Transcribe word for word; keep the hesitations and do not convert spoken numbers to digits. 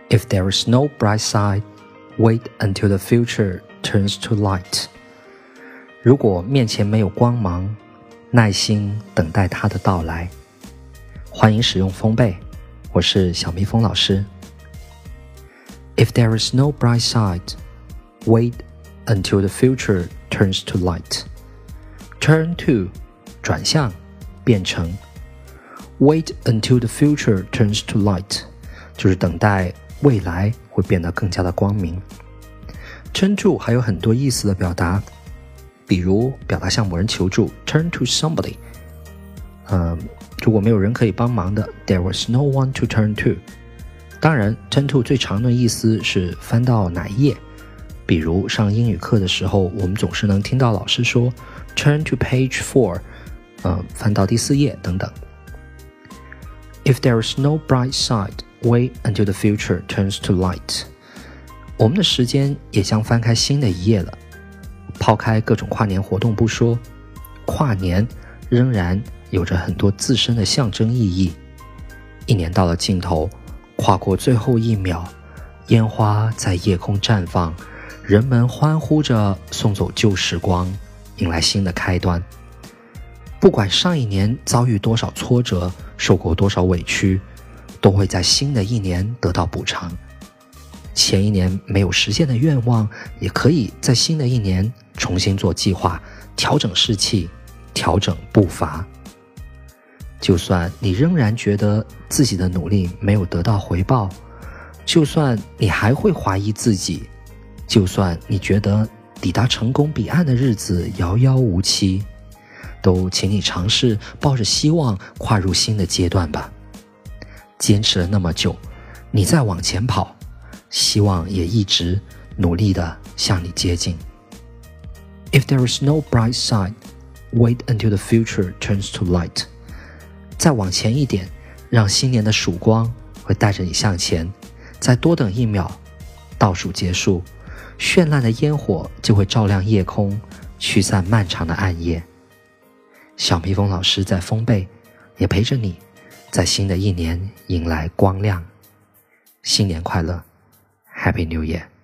If there is no bright side, wait until the future turns to light. 如果面前没有光芒，耐心等待它的到来。欢迎使用风贝，我是小蜜蜂老师。If there is no bright side, wait until the future turns to light. Turn to 转向，变成。Wait until the future turns to light 就是等待未来会变得更加的光明。Turn to 还有很多意思的表达，比如表达向某人求助 Turn to somebody、呃、如果没有人可以帮忙的 There was no one to turn to。 当然 Turn to 最常的意思是翻到哪一页，比如上英语课的时候，我们总是能听到老师说 Turn to page four、呃、翻到第四页等等。If there is no bright side, wait until the future turns to light. 我们的时间也将翻开新的一页了。抛开各种跨年活动不说，跨年仍然有着很多自身的象征意义。一年到了尽头，跨过最后一秒，烟花在夜空绽放，人们欢呼着送走旧时光，迎来新的开端。不管上一年遭遇多少挫折，受过多少委屈，都会在新的一年得到补偿。前一年没有实现的愿望，也可以在新的一年重新做计划，调整士气，调整步伐。就算你仍然觉得自己的努力没有得到回报，就算你还会怀疑自己，就算你觉得抵达成功彼岸的日子遥遥无期，都请你尝试抱着希望跨入新的阶段吧。坚持了那么久，你再往前跑，希望也一直努力地向你接近。 If there is no bright side, wait until the future turns to light. 再往前一点，让新年的曙光会带着你向前。再多等一秒，倒数结束，绚烂的烟火就会照亮夜空，驱散漫长的暗夜。小蜜蜂老师在风贝也陪着你，在新的一年迎来光亮。新年快乐 Happy New Year。